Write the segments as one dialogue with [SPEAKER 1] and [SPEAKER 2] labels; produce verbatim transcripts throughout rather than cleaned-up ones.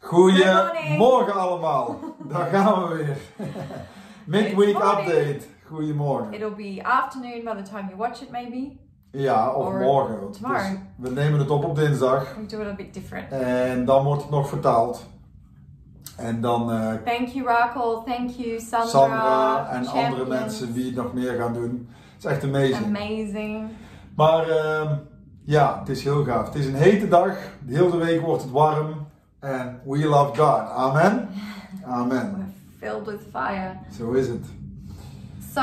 [SPEAKER 1] Goedemorgen allemaal. Daar gaan we weer. Midweek update. Goedemorgen.
[SPEAKER 2] It'll be afternoon by the time you watch it maybe.
[SPEAKER 1] Ja, of
[SPEAKER 2] Or
[SPEAKER 1] morgen.
[SPEAKER 2] tomorrow.
[SPEAKER 1] Dus we nemen het op op dinsdag.
[SPEAKER 2] We do it a bit different.
[SPEAKER 1] En dan wordt het nog vertaald. En dan... Uh,
[SPEAKER 2] thank you Rakel, thank you Sandra.
[SPEAKER 1] Sandra en
[SPEAKER 2] Champions.
[SPEAKER 1] andere mensen die het nog meer gaan doen. Het is echt amazing.
[SPEAKER 2] Amazing.
[SPEAKER 1] Maar uh, ja, het is heel gaaf. Het is een hete dag. De hele week wordt het warm. En we love God. Amen. Amen.
[SPEAKER 2] We're filled with fire.
[SPEAKER 1] Zo is het.
[SPEAKER 2] So,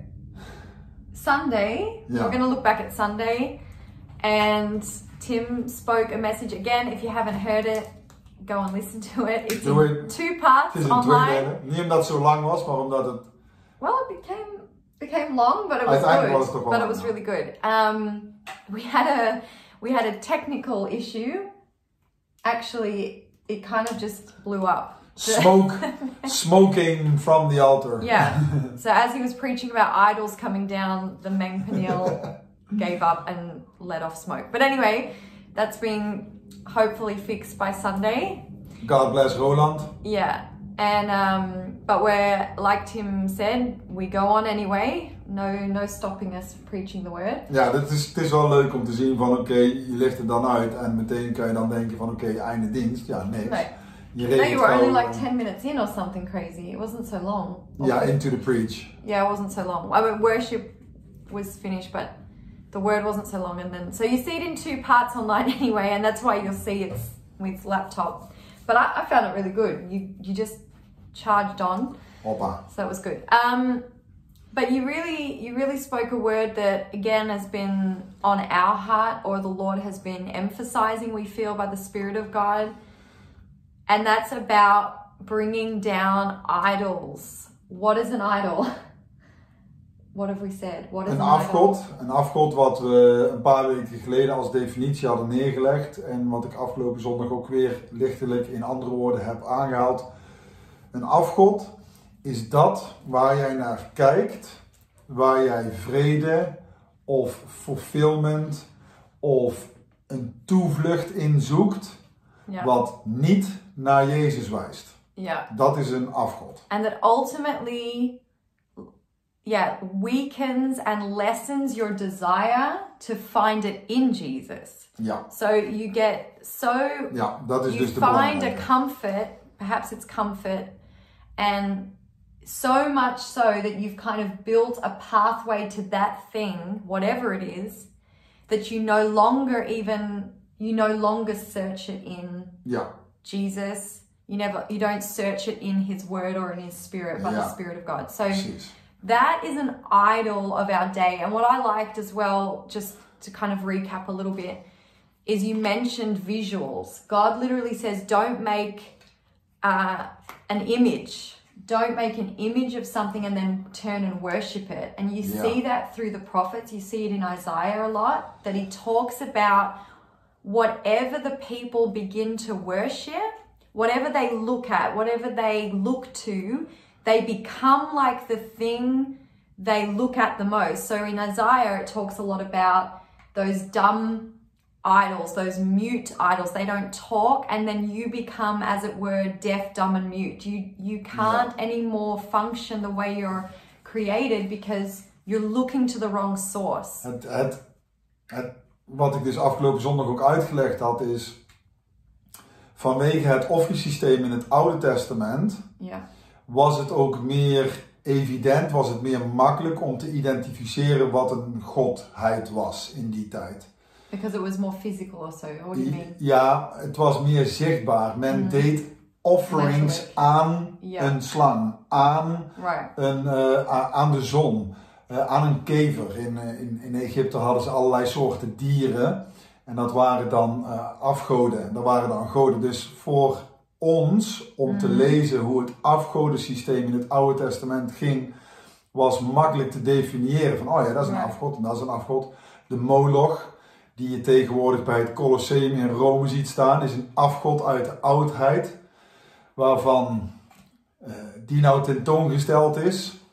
[SPEAKER 2] Sunday,
[SPEAKER 1] yeah.
[SPEAKER 2] we're going to look back at Sunday. And Tim spoke a message again. If you haven't heard it, go and listen to it. It's
[SPEAKER 1] Doe
[SPEAKER 2] in
[SPEAKER 1] het.
[SPEAKER 2] two parts
[SPEAKER 1] Het is een
[SPEAKER 2] online.
[SPEAKER 1] tweedelen. Niet omdat het zo lang was, maar omdat het...
[SPEAKER 2] Well, it became became long, but it was
[SPEAKER 1] Uiteindelijk
[SPEAKER 2] good.
[SPEAKER 1] was het toch wel
[SPEAKER 2] But it was
[SPEAKER 1] lang,
[SPEAKER 2] really good. Um, we had a we had a technical issue. Actually, it kind of just blew up.
[SPEAKER 1] Smoke, smoking from the altar.
[SPEAKER 2] Yeah. So as he was preaching about idols coming down, the main panel gave up and let off smoke. But anyway, that's been hopefully fixed by Sunday.
[SPEAKER 1] God bless Roland.
[SPEAKER 2] Yeah. And um, but we're, like Tim said, we go on anyway. No, no stopping us from preaching the word.
[SPEAKER 1] Ja, dit is, het is wel leuk om te zien van oké, okay, je legt het dan uit en meteen kan je dan denken van oké, okay, einde dienst. Ja, niks.
[SPEAKER 2] Nee.
[SPEAKER 1] Je
[SPEAKER 2] No, you were only
[SPEAKER 1] gewoon,
[SPEAKER 2] like ten minutes in or something crazy. It wasn't so long.
[SPEAKER 1] Yeah, into the preach.
[SPEAKER 2] Yeah, it wasn't so long. I mean, worship was finished, but the word wasn't so long. And then, so you see it in two parts online anyway, and that's why you'll see it's with laptop. But I, I found it really good. You you just charged on.
[SPEAKER 1] Hoppa.
[SPEAKER 2] So that was good. Um, but you really, you really spoke a word that again has been on our heart, or the Lord has been emphasizing, we feel by the Spirit of God. And that's about bringing down idols. What is an idol? What have we said? What is
[SPEAKER 1] Een
[SPEAKER 2] an
[SPEAKER 1] afgod.
[SPEAKER 2] idol?
[SPEAKER 1] Een afgod wat we een paar weken geleden als definitie hadden neergelegd. En wat ik afgelopen zondag ook weer lichtelijk in andere woorden heb aangehaald. Een afgod is dat waar jij naar kijkt. Waar jij vrede of fulfillment of een toevlucht in zoekt.
[SPEAKER 2] Yeah.
[SPEAKER 1] Wat niet naar Jezus wijst.
[SPEAKER 2] Yeah.
[SPEAKER 1] Dat is een afgod.
[SPEAKER 2] And that ultimately, yeah, weakens and lessens your desire to find it in Jesus.
[SPEAKER 1] Ja.
[SPEAKER 2] So you get so,
[SPEAKER 1] Ja, dat is
[SPEAKER 2] you
[SPEAKER 1] dus de
[SPEAKER 2] find
[SPEAKER 1] belangrijke.
[SPEAKER 2] a comfort, perhaps it's comfort, and so much so that you've kind of built a pathway to that thing, whatever it is, that you no longer even, you no longer search it in
[SPEAKER 1] Ja.
[SPEAKER 2] Jesus. You never, you don't search it in His Word or in His Spirit, but
[SPEAKER 1] Yeah.
[SPEAKER 2] the Spirit of God. So
[SPEAKER 1] Precies.
[SPEAKER 2] that is an idol of our day. And what I liked as well, just to kind of recap a little bit, is you mentioned visuals. God literally says, don't make uh, an image. Don't make an image of something and then turn and worship it. And you
[SPEAKER 1] Yeah.
[SPEAKER 2] see that through the prophets. You see it in Isaiah a lot, that he talks about whatever the people begin to worship, whatever they look at, whatever they look to, they become like the thing they look at the most. So in Isaiah, it talks a lot about those dumb idols, those mute idols. They don't talk, and then you become, as it were, deaf, dumb, and mute. You you can't
[SPEAKER 1] Yeah.
[SPEAKER 2] anymore function the way you're created because you're looking to the wrong source.
[SPEAKER 1] Het, het, het, wat ik dus afgelopen zondag ook uitgelegd had is, vanwege het offersysteem in het Oude Testament
[SPEAKER 2] Yeah.
[SPEAKER 1] was het ook meer evident, was het meer makkelijk om te identificeren wat een godheid was in die tijd.
[SPEAKER 2] Because it was more physical or so. What do you mean?
[SPEAKER 1] Ja, het was meer zichtbaar. Men
[SPEAKER 2] Mm.
[SPEAKER 1] deed offerings
[SPEAKER 2] Letterlijk.
[SPEAKER 1] aan
[SPEAKER 2] Ja.
[SPEAKER 1] een slang, aan,
[SPEAKER 2] Right.
[SPEAKER 1] een, uh, a- aan de zon, uh, aan een kever. In, uh, in, in Egypte hadden ze allerlei soorten dieren en dat waren dan uh, afgoden. Dat waren dan goden. Dus voor ons, om te
[SPEAKER 2] Mm.
[SPEAKER 1] lezen hoe het afgodensysteem in het Oude Testament ging, was makkelijk te definiëren van, oh ja, dat is een
[SPEAKER 2] Ja.
[SPEAKER 1] afgod en dat is een afgod. De Moloch, die je tegenwoordig bij het Colosseum in Rome ziet staan, is een afgod uit de oudheid, waarvan uh, die nou tentoongesteld is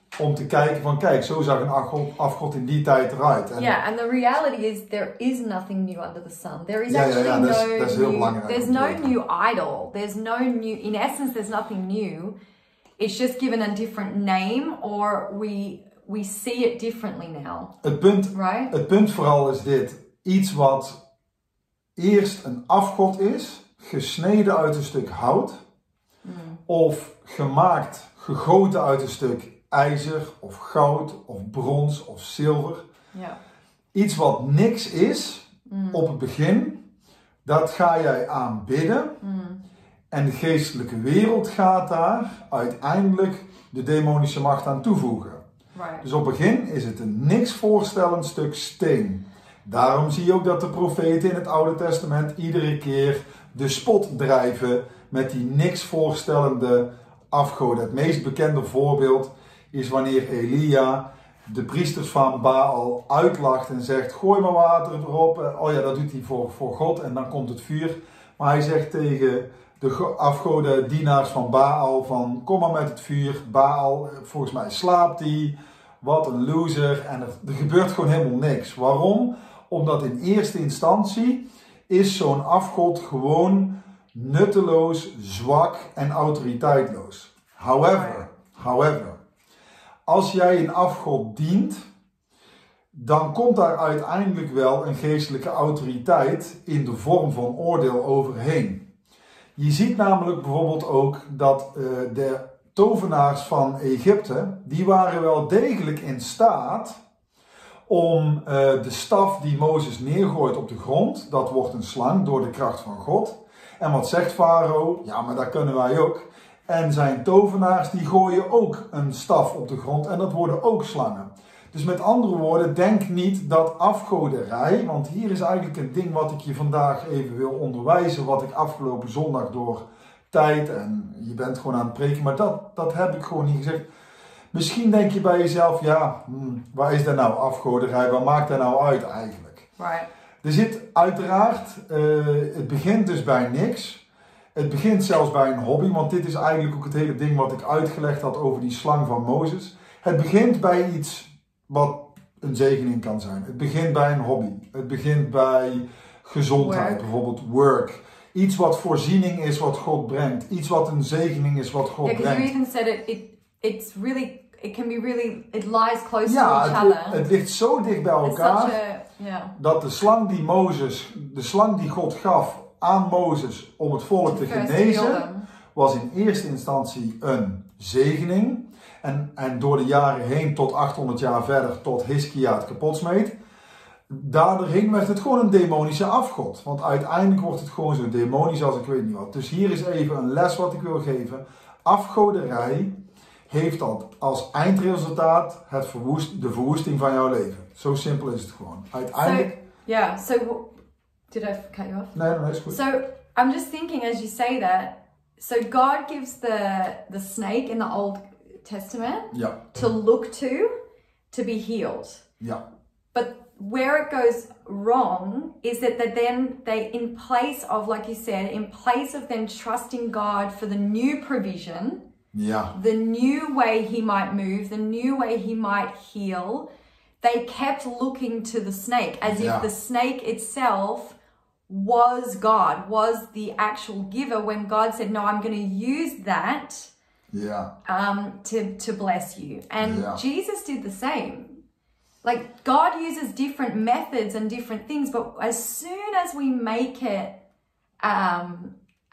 [SPEAKER 1] om te kijken van kijk, zo zag een afgod, afgod in die tijd eruit. En
[SPEAKER 2] yeah, and the reality is there is nothing new under the sun. There is
[SPEAKER 1] Ja, ja,
[SPEAKER 2] actually
[SPEAKER 1] ja, dat is-
[SPEAKER 2] no
[SPEAKER 1] dat is heel
[SPEAKER 2] new,
[SPEAKER 1] belangrijk
[SPEAKER 2] there's
[SPEAKER 1] om te
[SPEAKER 2] no
[SPEAKER 1] weten.
[SPEAKER 2] new idol. There's no new, in essence there's nothing new. It's just given a different name, or we we see it differently now,
[SPEAKER 1] het punt,
[SPEAKER 2] right?
[SPEAKER 1] het punt vooral is dit. Iets wat eerst een afgod is, gesneden uit een stuk hout,
[SPEAKER 2] Mm.
[SPEAKER 1] of gemaakt, gegoten uit een stuk ijzer, of goud, of brons, of zilver.
[SPEAKER 2] Yeah.
[SPEAKER 1] Iets wat niks is,
[SPEAKER 2] Mm.
[SPEAKER 1] op het begin, dat ga jij aanbidden.
[SPEAKER 2] Mm.
[SPEAKER 1] En de geestelijke wereld gaat daar uiteindelijk de demonische macht aan toevoegen.
[SPEAKER 2] Right.
[SPEAKER 1] Dus op het begin is het een niks voorstellend stuk steen. Daarom zie je ook dat de profeten in het Oude Testament iedere keer de spot drijven met die niks voorstellende afgoden. Het meest bekende voorbeeld is wanneer Elia de priesters van Baal uitlacht en zegt: gooi maar water erop. Oh ja, dat doet hij voor, voor God en dan komt het vuur. Maar hij zegt tegen de afgoden dienaars van Baal van: kom maar met het vuur. Baal, volgens mij slaapt hij. Wat een loser. En er, er gebeurt gewoon helemaal niks. Waarom? Omdat in eerste instantie is zo'n afgod gewoon nutteloos, zwak en autoriteitloos. However, however, als jij een afgod dient, dan komt daar uiteindelijk wel een geestelijke autoriteit in de vorm van oordeel overheen. Je ziet namelijk bijvoorbeeld ook dat uh, de tovenaars van Egypte, die waren wel degelijk in staat om uh, de staf die Mozes neergooit op de grond, dat wordt een slang door de kracht van God. En wat zegt Farao? Ja, maar dat kunnen wij ook. En zijn tovenaars die gooien ook een staf op de grond en dat worden ook slangen. Dus met andere woorden, denk niet dat afgoderij, want hier is eigenlijk een ding wat ik je vandaag even wil onderwijzen, wat ik afgelopen zondag door tijd en je bent gewoon aan het preken, maar dat, dat heb ik gewoon niet gezegd. Misschien denk je bij jezelf, ja, hmm, waar is dat nou afgoderij, wat maakt dat nou uit eigenlijk?
[SPEAKER 2] Right.
[SPEAKER 1] Er zit uiteraard, uh, het begint dus bij niks. Het begint zelfs bij een hobby, want dit is eigenlijk ook het hele ding wat ik uitgelegd had over die slang van Mozes. Het begint bij iets wat een zegening kan zijn. Het begint bij een hobby. Het begint bij gezondheid,
[SPEAKER 2] Work.
[SPEAKER 1] bijvoorbeeld work. Iets wat voorziening is wat God brengt. Iets wat een zegening is wat God
[SPEAKER 2] Yeah, because you
[SPEAKER 1] brengt.
[SPEAKER 2] even said it, it. It's really. It can be really. It lies close
[SPEAKER 1] Ja,
[SPEAKER 2] to each
[SPEAKER 1] het,
[SPEAKER 2] other.
[SPEAKER 1] het ligt zo dicht bij
[SPEAKER 2] It's
[SPEAKER 1] elkaar
[SPEAKER 2] such a. Yeah.
[SPEAKER 1] dat de slang die Mozes, de slang die God gaf aan Mozes om het volk te
[SPEAKER 2] First heal
[SPEAKER 1] genezen,
[SPEAKER 2] them.
[SPEAKER 1] was in eerste instantie een zegening. En, en door de jaren heen, tot achthonderd jaar verder, tot Hiskia het kapot smeet. Daardoorheen werd het gewoon een demonische afgod. Want uiteindelijk wordt het gewoon zo demonisch als ik weet niet wat. Dus hier is even een les wat ik wil geven. Afgoderij heeft dat als eindresultaat het verwoest, de verwoesting van jouw leven. Zo simpel is het gewoon. Uiteindelijk...
[SPEAKER 2] So, yeah. So, w- did I cut you off?
[SPEAKER 1] Nee, nee, nee, is goed.
[SPEAKER 2] So I'm just thinking as you say that. So God gives the the snake in the Old Testament
[SPEAKER 1] Ja,
[SPEAKER 2] to look to, to be healed.
[SPEAKER 1] ja,
[SPEAKER 2] But where it goes wrong is that they then they, in place of, like you said, in place of them trusting God for the new provision,
[SPEAKER 1] ja,
[SPEAKER 2] the new way He might move, the new way He might heal, they kept looking to the snake as
[SPEAKER 1] Yeah.
[SPEAKER 2] if the snake itself was God, was the actual giver. When God said, "No, I'm going to use that
[SPEAKER 1] ja,
[SPEAKER 2] um, to to bless you," and
[SPEAKER 1] Yeah.
[SPEAKER 2] Jesus did the same. Like, God uses different methods and different things, but as soon as we make it um,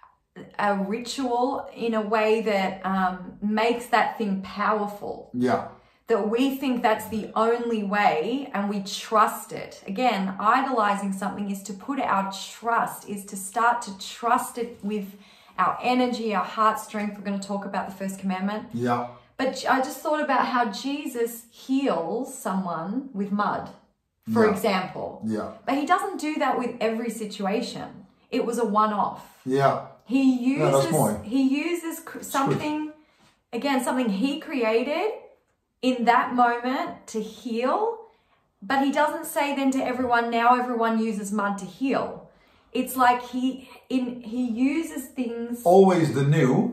[SPEAKER 2] a ritual in a way that um, makes that thing powerful,
[SPEAKER 1] ja,
[SPEAKER 2] that we think that's the only way and we trust it. Again, idolizing something is to put our trust, is to start to trust it with our energy, our heart strength. We're going to talk about the first commandment.
[SPEAKER 1] ja,
[SPEAKER 2] But I just thought about how Jesus heals someone with mud, for
[SPEAKER 1] Yeah.
[SPEAKER 2] example.
[SPEAKER 1] ja,
[SPEAKER 2] But he doesn't do that with every situation. It was a one-off.
[SPEAKER 1] ja,
[SPEAKER 2] He
[SPEAKER 1] Ja, dat is
[SPEAKER 2] uses
[SPEAKER 1] mooi.
[SPEAKER 2] he uses cr- something, again, something he created in that moment to heal. But he doesn't say then to everyone, now everyone uses mud to heal. It's like he in he uses things.
[SPEAKER 1] always the new.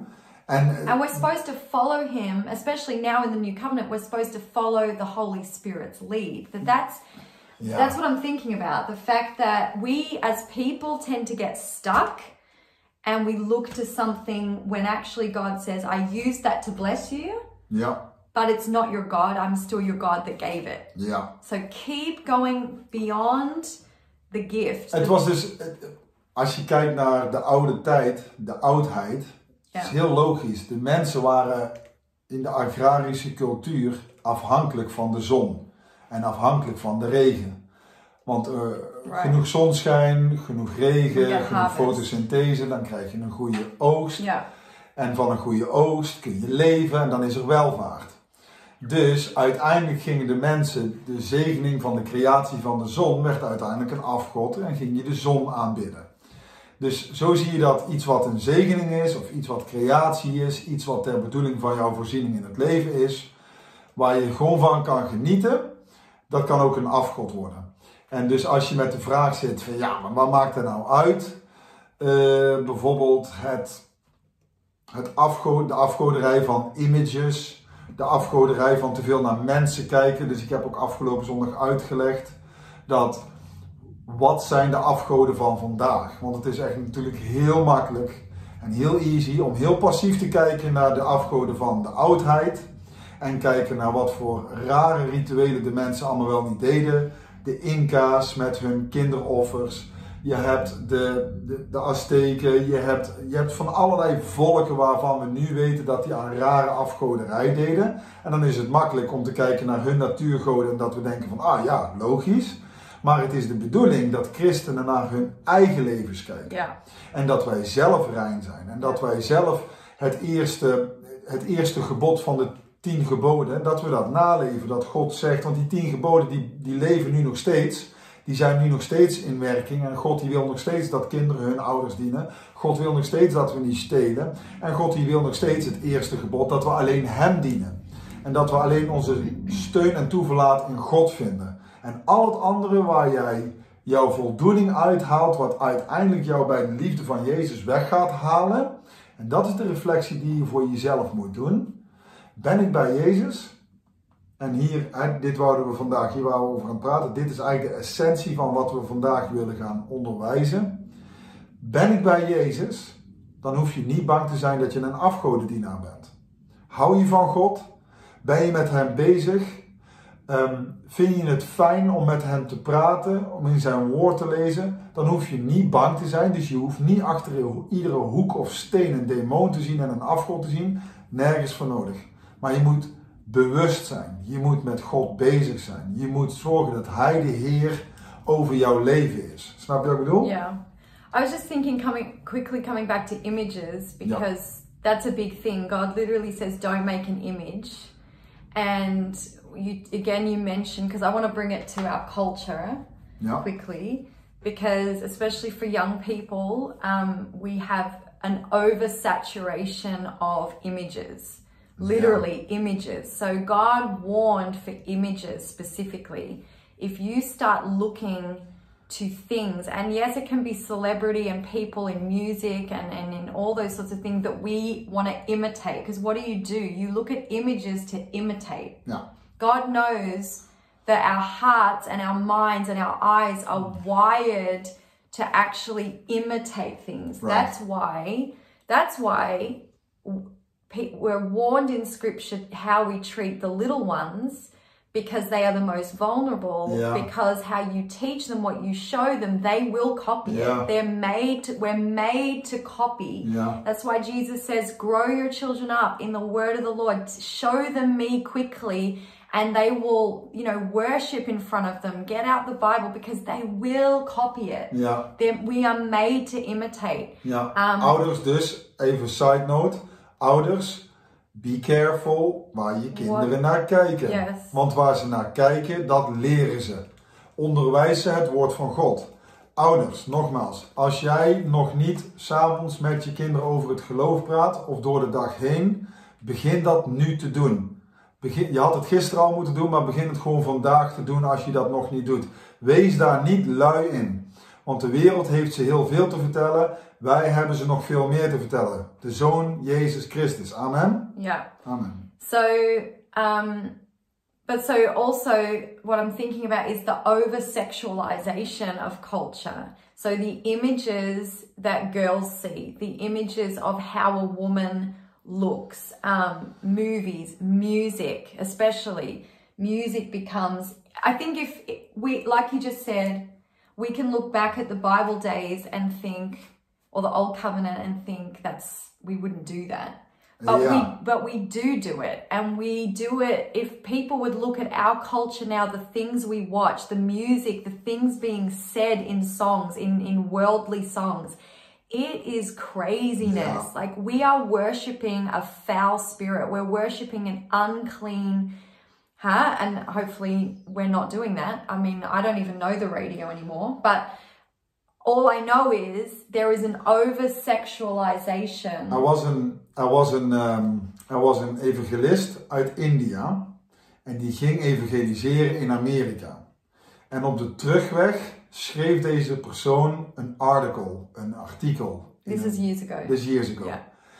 [SPEAKER 1] En,
[SPEAKER 2] And we're supposed to follow him, especially now in the new covenant, we're supposed to follow the Holy Spirit's lead. That that's
[SPEAKER 1] ja.
[SPEAKER 2] that's what I'm thinking about. The fact that we as people tend to get stuck and we look to something when actually God says, I used that to bless you.
[SPEAKER 1] Ja.
[SPEAKER 2] But it's not your God. I'm still your God that gave it.
[SPEAKER 1] Ja.
[SPEAKER 2] So keep going beyond the gift.
[SPEAKER 1] Het was dus, als je kijkt naar de oude tijd, de oudheid,
[SPEAKER 2] ja.
[SPEAKER 1] is heel logisch. De mensen waren in de agrarische cultuur afhankelijk van de zon en afhankelijk van de regen. Want uh, right. genoeg zonschijn, genoeg regen, genoeg harvest. Fotosynthese, dan krijg je een goede oogst.
[SPEAKER 2] Ja.
[SPEAKER 1] En van een goede oogst kun je leven en dan is er welvaart. Dus uiteindelijk gingen de mensen, de zegening van de creatie van de zon werd uiteindelijk een afgod en ging je de zon aanbidden. Dus zo zie je dat iets wat een zegening is, of iets wat creatie is, iets wat ter bedoeling van jouw voorziening in het leven is, waar je gewoon van kan genieten, dat kan ook een afgod worden. En dus als je met de vraag zit van ja, maar wat maakt er nou uit? Uh, bijvoorbeeld het, het afgo- de afgoderij van images, de afgoderij van te veel naar mensen kijken. Dus ik heb ook afgelopen zondag uitgelegd dat wat zijn de afgoden van vandaag? Want het is echt natuurlijk heel makkelijk en heel easy om heel passief te kijken naar de afgoden van de oudheid. En kijken naar wat voor rare rituelen de mensen allemaal wel niet deden. De Inca's met hun kinderoffers. Je hebt de, de, de Azteken. Je hebt, je hebt van allerlei volken waarvan we nu weten dat die aan rare afgoderij deden. En dan is het makkelijk om te kijken naar hun natuurgoden en dat we denken van, ah ja, logisch. Maar het is de bedoeling dat christenen naar hun eigen levens kijken.
[SPEAKER 2] Ja.
[SPEAKER 1] En dat wij zelf rein zijn. En dat wij zelf het eerste, het eerste gebod van de tien geboden, dat we dat naleven. Dat God zegt, want die tien geboden die, die leven nu nog steeds. Die zijn nu nog steeds in werking. En God die wil nog steeds dat kinderen hun ouders dienen. God wil nog steeds dat we niet stelen. En God die wil nog steeds het eerste gebod, dat we alleen hem dienen. En dat we alleen onze steun en toeverlaat in God vinden. En al het andere waar jij jouw voldoening uithaalt, wat uiteindelijk jou bij de liefde van Jezus weg gaat halen. En dat is de reflectie die je voor jezelf moet doen. Ben ik bij Jezus? En hier, dit wouden we vandaag, hier waar we over gaan praten. Dit is eigenlijk de essentie van wat we vandaag willen gaan onderwijzen. Ben ik bij Jezus? Dan hoef je niet bang te zijn dat je een afgodendienaar bent. Hou je van God? Ben je met hem bezig? Um, vind je het fijn om met hem te praten, om in zijn woord te lezen? Dan hoef je niet bang te zijn. Dus je hoeft niet achter iedere hoek of steen een demon te zien en een afgod te zien. Nergens voor nodig. Maar je moet bewust zijn. Je moet met God bezig zijn. Je moet zorgen dat hij de Heer over jouw leven is. Snap je wat ik bedoel?
[SPEAKER 2] Yeah. I was just thinking, coming quickly coming back to images, because yeah. that's a big thing. God literally says, don't make an image. And you again, you mentioned, because I want to bring it to our culture yeah. quickly, because especially for young people, um, we have an oversaturation of images. Literally yeah. images. So God warned for images specifically. If you start looking to things, and yes, it can be celebrity and people in music and, and in all those sorts of things that we want to imitate. Because what do you do? You look at images to imitate.
[SPEAKER 1] Yeah.
[SPEAKER 2] God knows that our hearts and our minds and our eyes are wired to actually imitate things. Right. That's why, that's why we're warned in scripture how we treat the little ones, because they are the most vulnerable, yeah. because how you teach them, what you show them, they will copy yeah. it. They're made to, we're made to copy.
[SPEAKER 1] Yeah.
[SPEAKER 2] That's why Jesus says, grow your children up in the word of the Lord. Show them me quickly, and they will, you know, worship in front of them. Get out the Bible, because they will copy it.
[SPEAKER 1] Yeah.
[SPEAKER 2] They're, we are made to imitate.
[SPEAKER 1] Ja.
[SPEAKER 2] Um,
[SPEAKER 1] Ouders dus, even side note. Ouders, be careful waar je kinderen
[SPEAKER 2] What?
[SPEAKER 1] naar kijken.
[SPEAKER 2] Yes.
[SPEAKER 1] Want waar ze naar kijken, dat leren ze. Onderwijs ze het woord van God. Ouders, nogmaals, als jij nog niet 's avonds met je kinderen over het geloof praat, of door de dag heen, begin dat nu te doen. Begin, je had het gisteren al moeten doen, maar begin het gewoon vandaag te doen als je dat nog niet doet. Wees daar niet lui in. Want de wereld heeft ze heel veel te vertellen. Wij hebben ze nog veel meer te vertellen. De Zoon Jezus Christus. Amen.
[SPEAKER 2] Yeah.
[SPEAKER 1] Amen.
[SPEAKER 2] So, um, but so also what I'm thinking about is the over-sexualization of culture. So the images that girls see, the images of how a woman looks, um, movies, music, especially music becomes, I think if we, like you just said, we can look back at the Bible days and think, or the Old Covenant and think that's, we wouldn't do that. But
[SPEAKER 1] yeah.
[SPEAKER 2] we but we do do it, and we do it. If people would look at our culture now, the things we watch, the music, the things being said in songs, in, in worldly songs, it is craziness.
[SPEAKER 1] Yeah.
[SPEAKER 2] Like, we are worshipping a foul spirit. We're worshipping an unclean, huh? And hopefully we're not doing that. I mean, I don't even know the radio anymore, but all I know is there is an over-sexualization.
[SPEAKER 1] Er was een, er was een, um, er was een evangelist uit India en die ging evangeliseren in Amerika. En op de terugweg schreef deze persoon een article, een artikel.
[SPEAKER 2] This is years ago.
[SPEAKER 1] This years ago.
[SPEAKER 2] Yeah.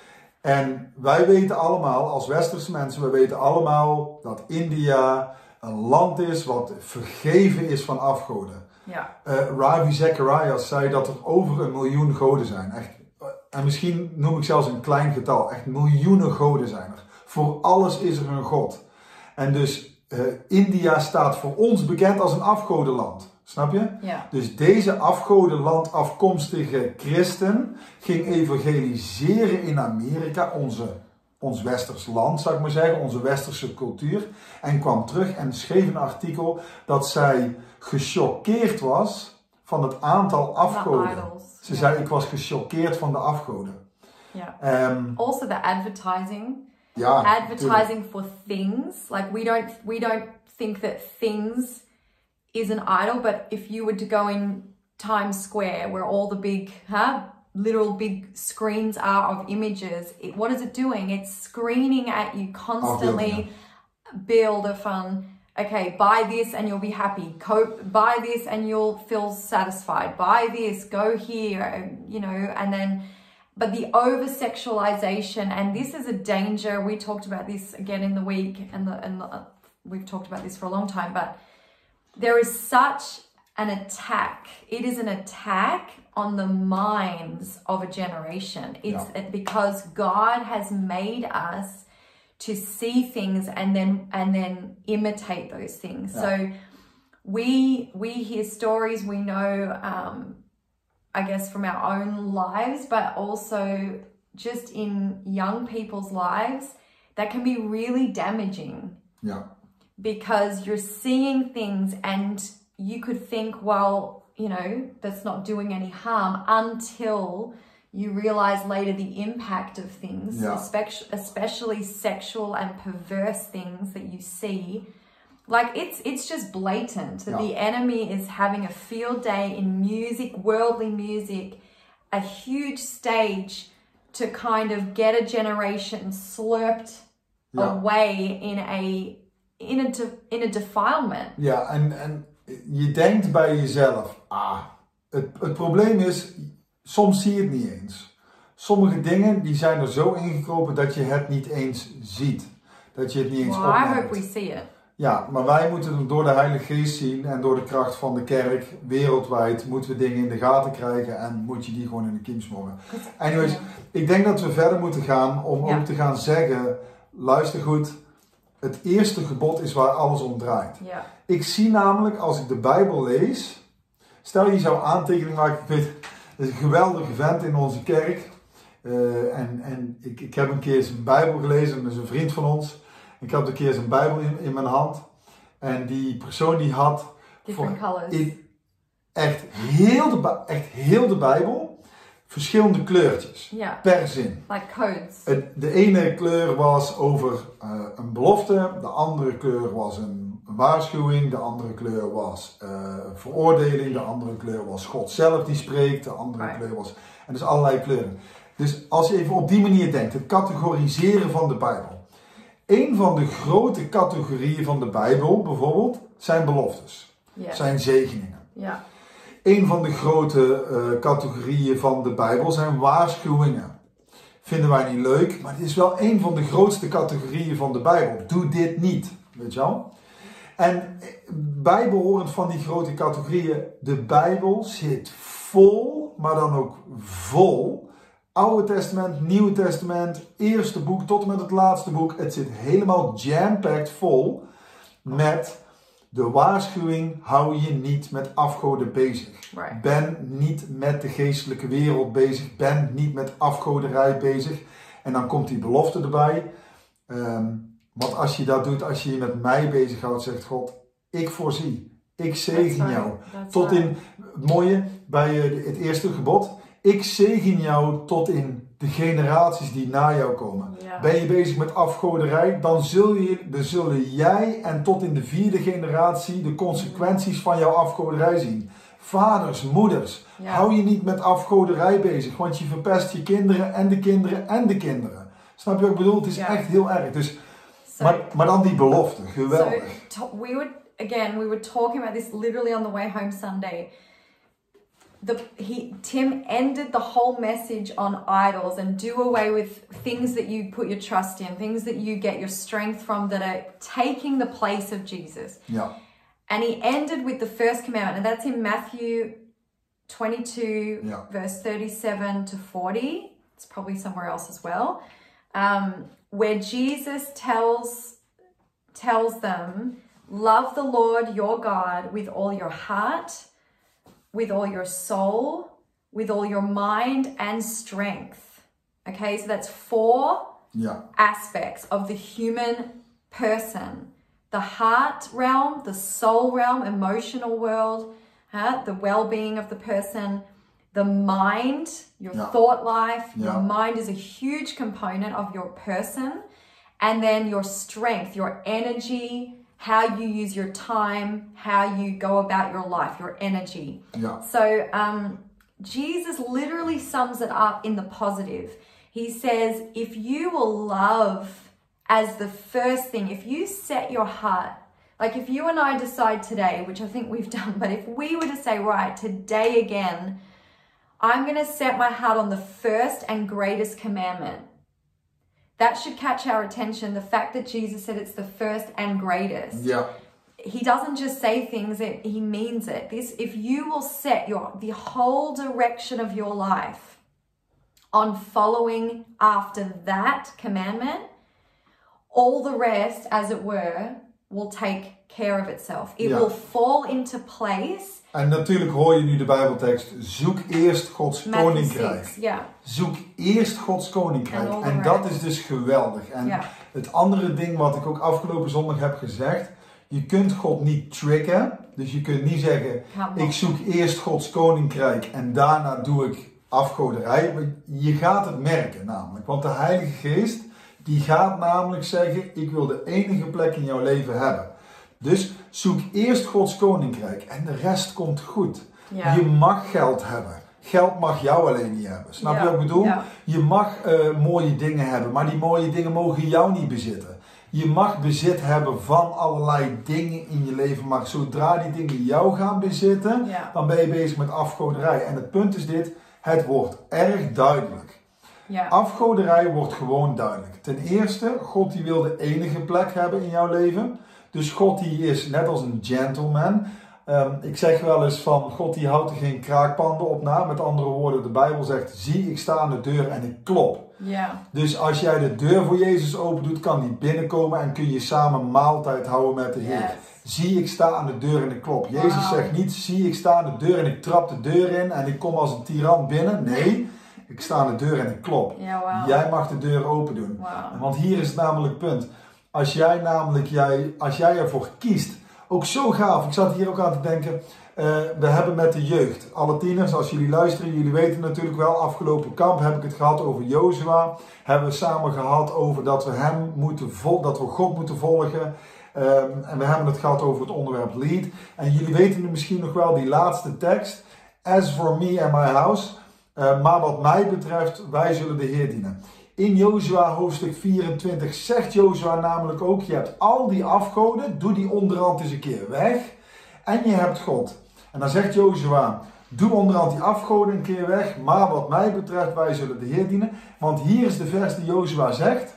[SPEAKER 1] En wij weten allemaal, als westerse mensen, we weten allemaal dat India een land is wat vergeven is van afgoden.
[SPEAKER 2] Ja.
[SPEAKER 1] Uh, Ravi Zacharias zei dat er over een miljoen goden zijn. Echt, uh, en misschien noem ik zelfs een klein getal. Echt miljoenen goden zijn er. Voor alles is er een god. En dus uh, India staat voor ons bekend als een afgodenland. Snap je?
[SPEAKER 2] Ja.
[SPEAKER 1] Dus deze afgodenland afkomstige christen ging evangeliseren in Amerika, onze, ons westers land, zou ik maar zeggen, onze westerse cultuur. En kwam terug en schreef een artikel dat zij gechoqueerd was van het aantal afgoden. Ze
[SPEAKER 2] yeah.
[SPEAKER 1] zei, ik was gechoqueerd van de afgoden.
[SPEAKER 2] Yeah.
[SPEAKER 1] Um,
[SPEAKER 2] also the advertising.
[SPEAKER 1] Ja,
[SPEAKER 2] advertising
[SPEAKER 1] tuurlijk.
[SPEAKER 2] for things. Like, we don't we don't think that things is an idol, but if you were to go in Times Square where all the big, huh, literal big screens are of images, it, what is it doing? It's screening at you constantly. Beelden van, okay, buy this and you'll be happy. Cope, buy this and you'll feel satisfied. Buy this, go here, you know, and then, but the over-sexualization, and this is a danger. We talked about this again in the week, and the, and the, uh, we've talked about this for a long time, but there is such an attack. It is an attack on the minds of a generation. It's
[SPEAKER 1] yeah.
[SPEAKER 2] because God has made us to see things and then and then imitate those things.
[SPEAKER 1] Yeah.
[SPEAKER 2] So we we hear stories, we know, um, I guess, from our own lives, but also just in young people's lives, that can be really damaging.
[SPEAKER 1] Yeah.
[SPEAKER 2] Because you're seeing things and you could think, well, you know, that's not doing any harm, until you realize later the impact of things,
[SPEAKER 1] yeah.
[SPEAKER 2] especially, especially sexual and perverse things that you see. Like, it's it's just blatant that
[SPEAKER 1] yeah.
[SPEAKER 2] the enemy is having a field day in music, worldly music, a huge stage to kind of get a generation slurped
[SPEAKER 1] yeah.
[SPEAKER 2] away in a in a de, in a defilement.
[SPEAKER 1] Ja, en, en je denkt bij jezelf, ah, het, het probleem is, soms zie je het niet eens. Sommige dingen die zijn er zo ingekropen dat je het niet eens ziet. Dat je het niet eens
[SPEAKER 2] well,
[SPEAKER 1] opmerkt.
[SPEAKER 2] I hope we see it.
[SPEAKER 1] Ja, maar wij moeten het door de Heilige Geest zien en door de kracht van de kerk wereldwijd moeten we dingen in de gaten krijgen en moet je die gewoon in de kiem smoren. Anyways,
[SPEAKER 2] yeah.
[SPEAKER 1] ik denk dat we verder moeten gaan om
[SPEAKER 2] ja.
[SPEAKER 1] ook te gaan zeggen, luister goed, het eerste gebod is waar alles om draait.
[SPEAKER 2] Ja.
[SPEAKER 1] Ik zie namelijk, als ik de Bijbel lees, stel je zou aantekening maken, ik weet, er is een geweldige vent in onze kerk uh, en, en ik, ik heb een keer zijn Bijbel gelezen, dat is een vriend van ons. Ik had een keer zijn Bijbel in, in mijn hand en die persoon die had
[SPEAKER 2] Different
[SPEAKER 1] voor,
[SPEAKER 2] colors.
[SPEAKER 1] in, echt, heel de, echt heel de Bijbel verschillende kleurtjes
[SPEAKER 2] Yeah.
[SPEAKER 1] per zin.
[SPEAKER 2] Like codes.
[SPEAKER 1] Het, de ene kleur was over uh, een belofte, de andere kleur was een, een waarschuwing, de andere kleur was uh, een veroordeling, de andere kleur was God zelf die spreekt, de andere
[SPEAKER 2] right.
[SPEAKER 1] kleur was... En dus allerlei kleuren. Dus als je even op die manier denkt, het categoriseren van de Bijbel. Een van de grote categorieën van de Bijbel bijvoorbeeld zijn beloftes,
[SPEAKER 2] Yeah.
[SPEAKER 1] zijn zegeningen.
[SPEAKER 2] Ja.
[SPEAKER 1] Een van de grote uh, categorieën van de Bijbel zijn waarschuwingen. Vinden wij niet leuk, maar het is wel een van de grootste categorieën van de Bijbel. Doe dit niet, weet je wel? En bijbehorend van die grote categorieën, de Bijbel zit vol, maar dan ook vol. Oude Testament, Nieuwe Testament, eerste boek tot en met het laatste boek. Het zit helemaal jam-packed vol met de waarschuwing: hou je niet met afgoden bezig.
[SPEAKER 2] Right.
[SPEAKER 1] Ben niet met de geestelijke wereld bezig. Ben niet met afgoderij bezig. En dan komt die belofte erbij. Um, want als je dat doet, als je je met mij bezighoudt, zegt God: ik voorzie. Ik zegen
[SPEAKER 2] right.
[SPEAKER 1] jou.
[SPEAKER 2] That's
[SPEAKER 1] Tot
[SPEAKER 2] right.
[SPEAKER 1] in, het mooie bij het eerste gebod: ik zegen jou tot in de generaties die na jou komen.
[SPEAKER 2] Ja.
[SPEAKER 1] Ben je bezig met afgoderij, dan, zul je, dan zullen jij en tot in de vierde generatie de consequenties van jouw afgoderij zien. Vaders, moeders,
[SPEAKER 2] Ja.
[SPEAKER 1] hou je niet met afgoderij bezig, want je verpest je kinderen en de kinderen en de kinderen. Snap je wat ik bedoel? Het is
[SPEAKER 2] Ja.
[SPEAKER 1] echt heel erg. Dus,
[SPEAKER 2] So-
[SPEAKER 1] maar, maar dan die belofte, geweldig.
[SPEAKER 2] So to- we would again we were talking about this literally on the way home Sunday. The he Tim ended the whole message on idols and do away with things that you put your trust in, things that you get your strength from that are taking the place of Jesus.
[SPEAKER 1] Ja,
[SPEAKER 2] And he ended with the first commandment, and that's in Matthew twenty-two,
[SPEAKER 1] Yeah.
[SPEAKER 2] verse thirty-seven to forty. It's probably somewhere else as well, um, where Jesus tells tells them, love the Lord your God with all your heart, with all your soul, with all your mind and strength. Okay, so that's four
[SPEAKER 1] ja,
[SPEAKER 2] aspects of the human person: the heart realm, the soul realm, emotional world, huh? The well-being of the person, the mind, your
[SPEAKER 1] Yeah.
[SPEAKER 2] thought life.
[SPEAKER 1] Yeah.
[SPEAKER 2] Your mind is a huge component of your person. And then your strength, your energy, how you use your time, how you go about your life, your energy.
[SPEAKER 1] ja,
[SPEAKER 2] So um, Jesus literally sums it up in the positive. He says, if you will love as the first thing, if you set your heart, like if you and I decide today, which I think we've done, but if we were to say, right, today again, I'm going to set my heart on the first and greatest commandment. That should catch our attention. The fact that Jesus said it's the first and greatest.
[SPEAKER 1] ja,
[SPEAKER 2] He doesn't just say things, it, he means it. This, if you will set your the whole direction of your life on following after that commandment, all the rest, as it were, will take care of itself. It
[SPEAKER 1] Ja.
[SPEAKER 2] will fall into place.
[SPEAKER 1] En natuurlijk hoor je nu de Bijbeltekst: zoek eerst Gods
[SPEAKER 2] Matthew
[SPEAKER 1] koninkrijk.
[SPEAKER 2] six, yeah.
[SPEAKER 1] Zoek eerst Gods koninkrijk.
[SPEAKER 2] And all the
[SPEAKER 1] En dat
[SPEAKER 2] rest.
[SPEAKER 1] is dus geweldig. En
[SPEAKER 2] Ja.
[SPEAKER 1] het andere ding wat ik ook afgelopen zondag heb gezegd: je kunt God niet tricken. Dus je kunt niet zeggen:
[SPEAKER 2] Come on.
[SPEAKER 1] ik zoek eerst Gods koninkrijk en daarna doe ik afgoderij. Maar je gaat het merken namelijk. Want de Heilige Geest die gaat namelijk zeggen: ik wil de enige plek in jouw leven hebben. Dus zoek eerst Gods koninkrijk en de rest komt goed.
[SPEAKER 2] Ja.
[SPEAKER 1] Je mag geld hebben. Geld mag jou alleen niet hebben. Snap
[SPEAKER 2] Ja,
[SPEAKER 1] je wat ik bedoel?
[SPEAKER 2] ja.
[SPEAKER 1] Je mag uh, mooie dingen hebben, maar die mooie dingen mogen jou niet bezitten. Je mag bezit hebben van allerlei dingen in je leven, maar zodra die dingen jou gaan bezitten,
[SPEAKER 2] Ja.
[SPEAKER 1] dan ben je bezig met afgoderij. En het punt is dit: het wordt erg duidelijk.
[SPEAKER 2] Ja.
[SPEAKER 1] Afgoderij wordt gewoon duidelijk. Ten eerste, God die wil de enige plek hebben in jouw leven. Dus God die is net als een gentleman. Um, ik zeg wel eens van: God die houdt er geen kraakpanden op na. Met andere woorden, de Bijbel zegt: zie, ik sta aan de deur en ik klop.
[SPEAKER 2] Ja.
[SPEAKER 1] Dus als jij de deur voor Jezus open doet, kan die binnenkomen en kun je samen maaltijd houden met de Heer.
[SPEAKER 2] Yes.
[SPEAKER 1] Zie, ik sta aan de deur en ik klop. Jezus
[SPEAKER 2] Wow.
[SPEAKER 1] zegt niet: zie, ik sta aan de deur en ik trap de deur in en ik kom als een tiran binnen. Nee, ik sta aan de deur en ik klop.
[SPEAKER 2] Ja, wauw.
[SPEAKER 1] Jij mag de deur open doen.
[SPEAKER 2] Wauw.
[SPEAKER 1] Want hier is het namelijk het punt. Als jij namelijk, jij, als jij ervoor kiest, ook zo gaaf. Ik zat hier ook aan te denken. Uh, we hebben met de jeugd, alle tieners, als jullie luisteren, jullie weten natuurlijk wel, afgelopen kamp heb ik het gehad over Jozua. Hebben we samen gehad over dat we hem moeten vol, dat we God moeten volgen. Um, en we hebben het gehad over het onderwerp lead. En jullie weten nu misschien nog wel die laatste tekst. As for me and my house. Uh, maar wat mij betreft, wij zullen de Heer dienen. In Jozua hoofdstuk vierentwintig zegt Jozua namelijk ook: je hebt al die afgoden, doe die onderhand eens een keer weg. En je hebt God. En dan zegt Jozua, doe onderhand die afgoden een keer weg, maar wat mij betreft, wij zullen de Heer dienen. Want hier is de vers die Jozua zegt,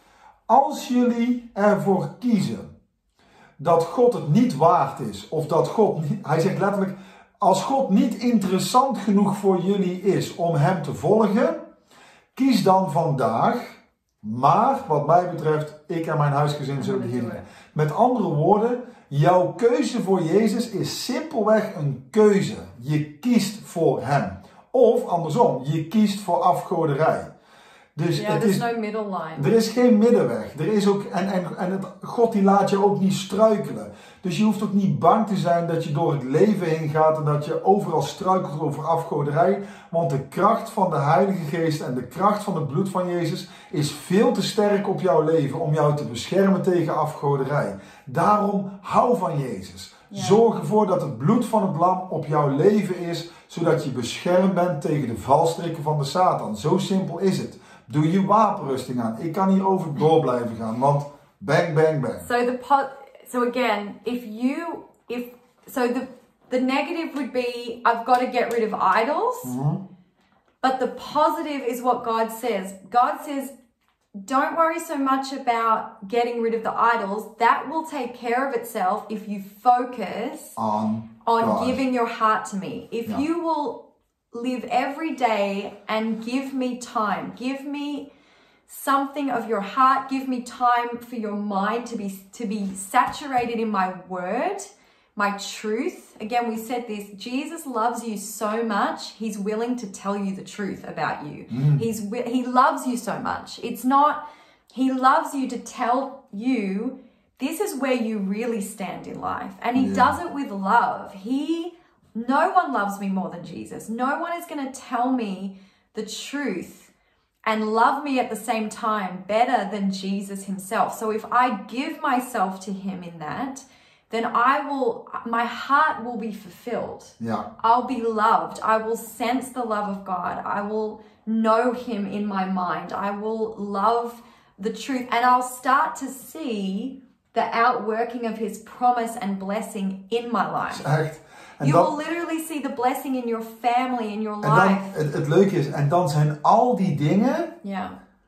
[SPEAKER 1] als jullie ervoor kiezen dat God het niet waard is, of dat God niet, hij zegt letterlijk, als God niet interessant genoeg voor jullie is om hem te volgen, kies dan vandaag, maar wat mij betreft, ik en mijn huisgezin zullen de Heer dienen. Met andere woorden, jouw keuze voor Jezus is simpelweg een keuze. Je kiest voor hem. Of andersom, je kiest voor afgoderij. Dus
[SPEAKER 2] yeah,
[SPEAKER 1] het
[SPEAKER 2] there's
[SPEAKER 1] is,
[SPEAKER 2] no middle line.
[SPEAKER 1] er is geen middenweg. Er is ook, en en, en het, God die laat je ook niet struikelen. Dus je hoeft ook niet bang te zijn dat je door het leven heen gaat en dat je overal struikelt over afgoderij. Want de kracht van de Heilige Geest en de kracht van het bloed van Jezus is veel te sterk op jouw leven om jou te beschermen tegen afgoderij. Daarom hou van Jezus.
[SPEAKER 2] Ja.
[SPEAKER 1] Zorg ervoor dat het bloed van het lam op jouw leven is, zodat je beschermd bent tegen de valstrikken van de Satan. Zo simpel is het. Doe je wapenrusting aan. Ik kan hierover door blijven gaan, want bang, bang, bang.
[SPEAKER 2] So the po- so again, if you if so the the negative would be I've got to get rid of idols.
[SPEAKER 1] Mm-hmm.
[SPEAKER 2] But the positive is what God says. God says, don't worry so much about getting rid of the idols. That will take care of itself if you focus
[SPEAKER 1] On,
[SPEAKER 2] on
[SPEAKER 1] God.
[SPEAKER 2] giving your heart to me. If
[SPEAKER 1] Yeah.
[SPEAKER 2] you will live every day and give me time, give me something of your heart, give me time for your mind to be to be saturated in my word, my truth. Again, we said this, Jesus loves you so much, he's willing to tell you the truth about you.
[SPEAKER 1] Mm.
[SPEAKER 2] He's wi- he loves you so much. It's not, he loves you to tell you this is where you really stand in life. And he
[SPEAKER 1] Yeah.
[SPEAKER 2] does it with love. He No one loves me more than Jesus. No one is going to tell me the truth and love me at the same time better than Jesus himself. So if I give myself to him in that, then I will, my heart will be fulfilled.
[SPEAKER 1] Ja.
[SPEAKER 2] I'll be loved. I will sense the love of God. I will know him in my mind. I will love the truth. And I'll start to see the outworking of his promise and blessing in my life.
[SPEAKER 1] Echt. En
[SPEAKER 2] You
[SPEAKER 1] dan,
[SPEAKER 2] will literally see the blessing in your family, in your
[SPEAKER 1] en dan
[SPEAKER 2] life.
[SPEAKER 1] het, het leuke is, en dan zijn al die dingen,
[SPEAKER 2] Yeah.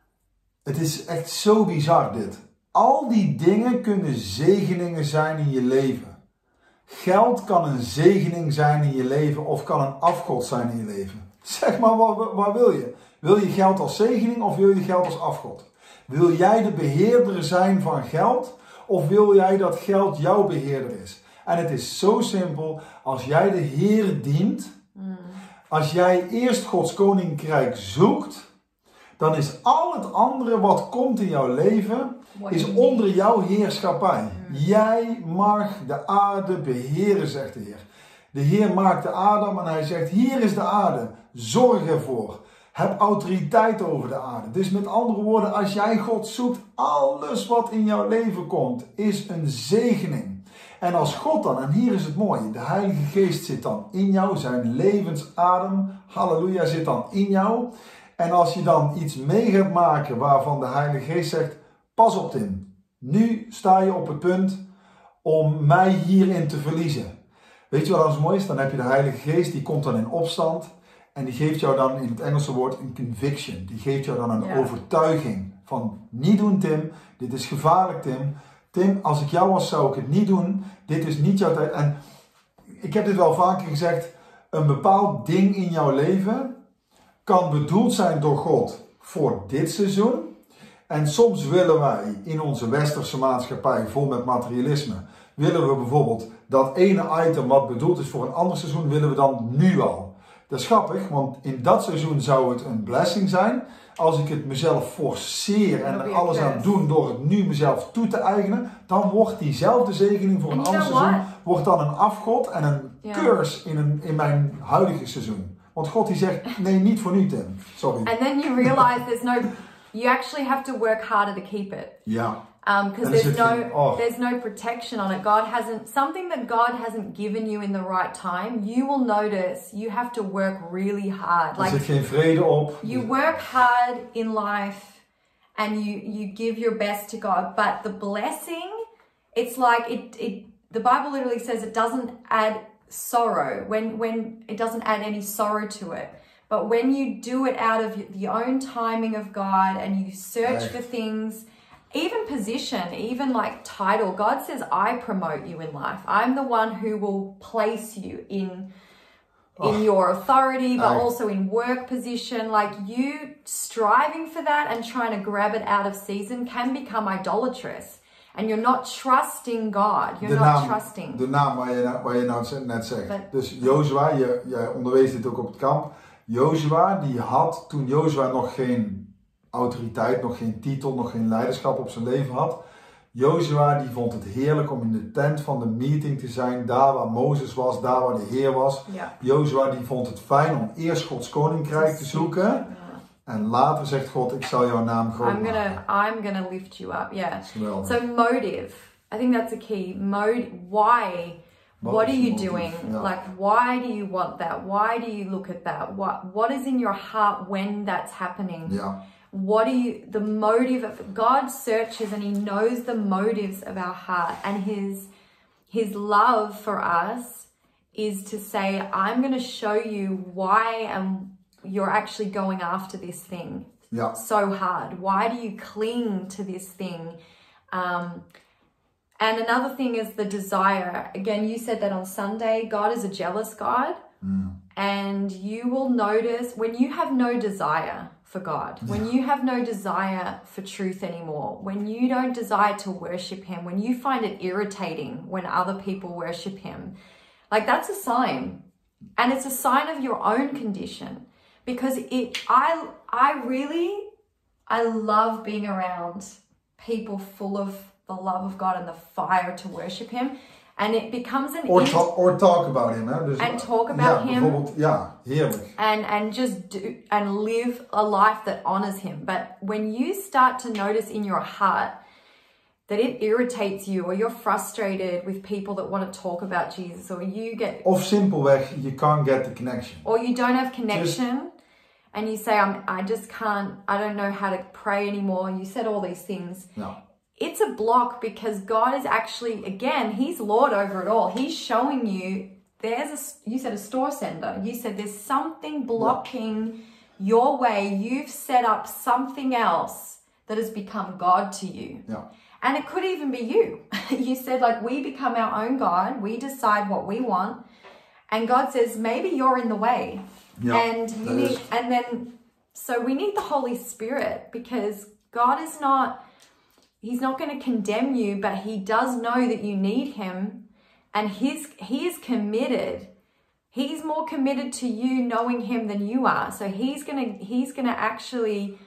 [SPEAKER 1] het is echt zo bizar dit. Al die dingen kunnen zegeningen zijn in je leven. Geld kan een zegening zijn in je leven of kan een afgod zijn in je leven. Zeg maar, wat, wat wil je? Wil je geld als zegening of wil je geld als afgod? Wil jij de beheerder zijn van geld of wil jij dat geld jouw beheerder is? En het is zo simpel, als jij de Heer dient, mm. als jij eerst Gods koninkrijk zoekt, dan is al het andere wat komt in jouw leven,
[SPEAKER 2] What
[SPEAKER 1] is
[SPEAKER 2] you
[SPEAKER 1] onder
[SPEAKER 2] need.
[SPEAKER 1] jouw heerschappij.
[SPEAKER 2] Mm.
[SPEAKER 1] Jij mag de aarde beheren, zegt de Heer. De Heer maakte Adam en hij zegt, hier is de aarde, zorg ervoor. Heb autoriteit over de aarde. Dus met andere woorden, als jij God zoekt, alles wat in jouw leven komt, is een zegening. En als God dan, en hier is het mooie, de Heilige Geest zit dan in jou, zijn levensadem, halleluja, zit dan in jou. En als je dan iets mee gaat maken waarvan de Heilige Geest zegt, pas op Tim, nu sta je op het punt om mij hierin te verliezen. Weet je wat dan zo mooi is? Dan heb je de Heilige Geest, die komt dan in opstand en die geeft jou dan in het Engelse woord een conviction. Die geeft jou dan een
[SPEAKER 2] Ja.
[SPEAKER 1] overtuiging van, niet doen Tim, dit is gevaarlijk Tim. Tim, als ik jou was, zou ik het niet doen. Dit is niet jouw tijd. En ik heb dit wel vaker gezegd. Een bepaald ding in jouw leven kan bedoeld zijn door God voor dit seizoen. En soms willen wij in onze westerse maatschappij vol met materialisme, willen we bijvoorbeeld dat ene item wat bedoeld is voor een ander seizoen, willen we dan nu al. Dat is grappig, want in dat seizoen zou het een blessing zijn. Als ik het mezelf forceer en er alles aan doen door het nu mezelf toe te eigenen, dan wordt diezelfde zegening voor een
[SPEAKER 2] And
[SPEAKER 1] ander
[SPEAKER 2] you know
[SPEAKER 1] seizoen,
[SPEAKER 2] what?
[SPEAKER 1] wordt dan een afgod en een
[SPEAKER 2] Ja.
[SPEAKER 1] curse in, een, in mijn huidige seizoen. Want God die zegt, nee, niet voor nu Tim. Sorry.
[SPEAKER 2] And then you realize there's no, you actually have to work harder to keep it.
[SPEAKER 1] Ja.
[SPEAKER 2] Um, because
[SPEAKER 1] Dan is
[SPEAKER 2] there's
[SPEAKER 1] het
[SPEAKER 2] no,
[SPEAKER 1] geen- oh.
[SPEAKER 2] there's no protection on it. God hasn't, something that God hasn't given you in the right time, you will notice you have to work really hard.
[SPEAKER 1] Er
[SPEAKER 2] Like,
[SPEAKER 1] zit geen vrede op.
[SPEAKER 2] you work hard in life and you, you give your best to God, but the blessing, it's like it, it the Bible literally says it doesn't add sorrow, when, when it doesn't add any sorrow to it. But when you do it out of the own timing of God and you search
[SPEAKER 1] Echt.
[SPEAKER 2] for things, even position, even like title, God says, I promote you in life. I'm the one who will place you in, in
[SPEAKER 1] Oh.
[SPEAKER 2] your authority, but
[SPEAKER 1] Echt.
[SPEAKER 2] also in work position. Like you striving for that and trying to grab it out of season can become idolatrous. And you're not trusting God. You're
[SPEAKER 1] De
[SPEAKER 2] not
[SPEAKER 1] naam,
[SPEAKER 2] trusting.
[SPEAKER 1] de naam waar je, waar je nou net zegt.
[SPEAKER 2] But-
[SPEAKER 1] Dus Jozua, je, jij onderwees dit ook op het kamp. Jozua, die had, toen Jozua nog geen autoriteit, nog geen titel, nog geen leiderschap op zijn leven had. Jozua, die vond het heerlijk om in de tent van de meeting te zijn. Daar waar Mozes was, daar waar de Heer was.
[SPEAKER 2] Ja.
[SPEAKER 1] Jozua, die vond het fijn om eerst Gods koninkrijk te zoeken.
[SPEAKER 2] Ja.
[SPEAKER 1] En later zegt God, ik zal jouw naam groot
[SPEAKER 2] I'm gonna,
[SPEAKER 1] maken.
[SPEAKER 2] I'm gonna lift you up. Yeah.
[SPEAKER 1] Dat is geweldig.
[SPEAKER 2] So motive, I think that's a key. Mode, why? What are you
[SPEAKER 1] Motive,
[SPEAKER 2] doing?
[SPEAKER 1] ja.
[SPEAKER 2] Like, why do you want that? Why do you look at that? What What is in your heart when that's happening?
[SPEAKER 1] Ja,
[SPEAKER 2] What do you? The motive of God searches and He knows the motives of our heart, and His His love for us is to say, I'm going to show you why and you're actually going after this thing.
[SPEAKER 1] ja,
[SPEAKER 2] So hard. Why do you cling to this thing? Um, and another thing is the desire. Again, you said that on Sunday. God is a jealous God.
[SPEAKER 1] mm.
[SPEAKER 2] And you will notice when you have no desire for God, when you have no desire for truth anymore, when you don't desire to worship Him, when you find it irritating when other people worship Him, like that's a sign. And it's a sign of your own condition. Because it, I, I really, I love being around people full of the love of God and the fire to worship Him, and it becomes an
[SPEAKER 1] Or,
[SPEAKER 2] int-
[SPEAKER 1] ta- or talk about him. Hè? Dus,
[SPEAKER 2] And talk about
[SPEAKER 1] ja,
[SPEAKER 2] him.
[SPEAKER 1] bijvoorbeeld, ja, heerlijk.
[SPEAKER 2] and and just do and live a life that honors Him. But when you start to notice in your heart that it irritates you, or you're frustrated with people that want to talk about Jesus, or you get
[SPEAKER 1] Of simpelweg, you can't get the connection.
[SPEAKER 2] or you don't have connection, and you say, I'm, I just can't, I don't know how to pray anymore. You said all these things.
[SPEAKER 1] Ja.
[SPEAKER 2] It's a block because God is actually, again, He's Lord over it all. He's showing you, there's a, you said a store sender. You said there's something blocking your way. You've set up something else that has become God to you.
[SPEAKER 1] Ja.
[SPEAKER 2] And it could even be you. You said, like, we become our own God. We decide what we want. And God says, maybe you're in the way.
[SPEAKER 1] Ja,
[SPEAKER 2] and you
[SPEAKER 1] dat
[SPEAKER 2] need,
[SPEAKER 1] is-
[SPEAKER 2] and then, so we need the Holy Spirit, because God is not, He's not going to condemn you, but He does know that you need Him, and His, He is committed. He's more committed to you knowing Him than you are. So He's going to, He's going to actually,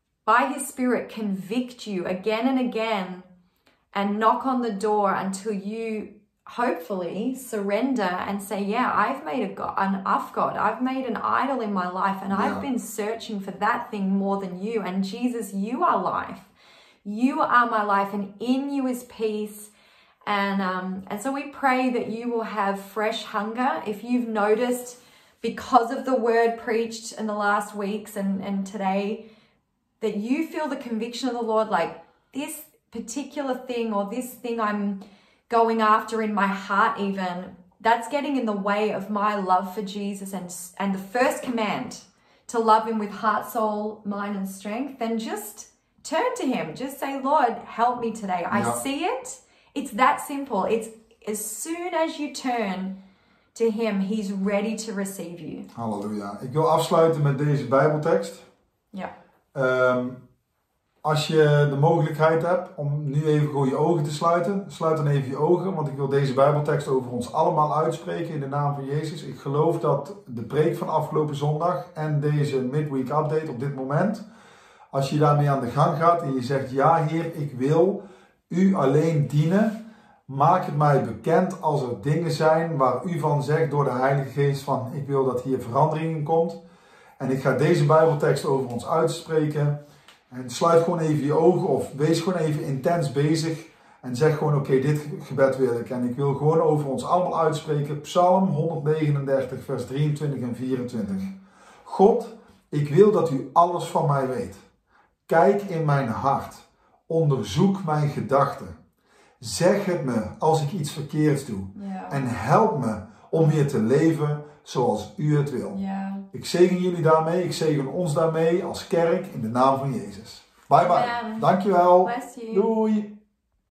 [SPEAKER 2] by His Spirit, convict you again and again and knock on the door until you hopefully surrender and say, yeah, I've made a God, an off God. I've made an idol in my life, and
[SPEAKER 1] Yeah.
[SPEAKER 2] I've been searching for that thing more than you. And Jesus, you are life. You are my life, and in you is peace. And um, and so we pray that you will have fresh hunger. If you've noticed, because of the word preached in the last weeks and, and today, that you feel the conviction of the Lord, like this particular thing or this thing I'm going after in my heart, even, that's getting in the way of my love for Jesus and, and the first command to love Him with heart, soul, mind, and strength, then just turn to Him. Just say, Lord, help me today. I
[SPEAKER 1] Ja.
[SPEAKER 2] see it. It's that simple. It's as soon as you turn to Him, He's ready to receive you.
[SPEAKER 1] Halleluja. Ik wil afsluiten met deze Bijbeltekst.
[SPEAKER 2] Ja.
[SPEAKER 1] Ehm, als je de mogelijkheid hebt om nu even gewoon je ogen te sluiten, sluit dan even je ogen, want ik wil deze Bijbeltekst over ons allemaal uitspreken in de naam van Jezus. Ik geloof dat de preek van afgelopen zondag en deze midweek update op dit moment, als je daarmee aan de gang gaat en je zegt, ja Heer, ik wil U alleen dienen, maak het mij bekend als er dingen zijn waar U van zegt door de Heilige Geest van, ik wil dat hier verandering in komt. En ik ga deze Bijbeltekst over ons uitspreken. En sluit gewoon even je ogen of wees gewoon even intens bezig. En zeg gewoon, oké, okay, dit gebed wil ik. En ik wil gewoon over ons allemaal uitspreken. Psalm honderdnegenendertig, vers drieëntwintig en vierentwintig. God, ik wil dat U alles van mij weet. Kijk in mijn hart. Onderzoek mijn gedachten. Zeg het me als ik iets verkeerds doe.
[SPEAKER 2] Ja.
[SPEAKER 1] En help me om weer te leven zoals u het wil.
[SPEAKER 2] Yeah.
[SPEAKER 1] Ik zegen jullie daarmee, ik zegen ons daarmee als kerk in de naam van Jezus. Bye bye.
[SPEAKER 2] Amen.
[SPEAKER 1] Dankjewel.
[SPEAKER 2] Bless you.
[SPEAKER 1] Doei.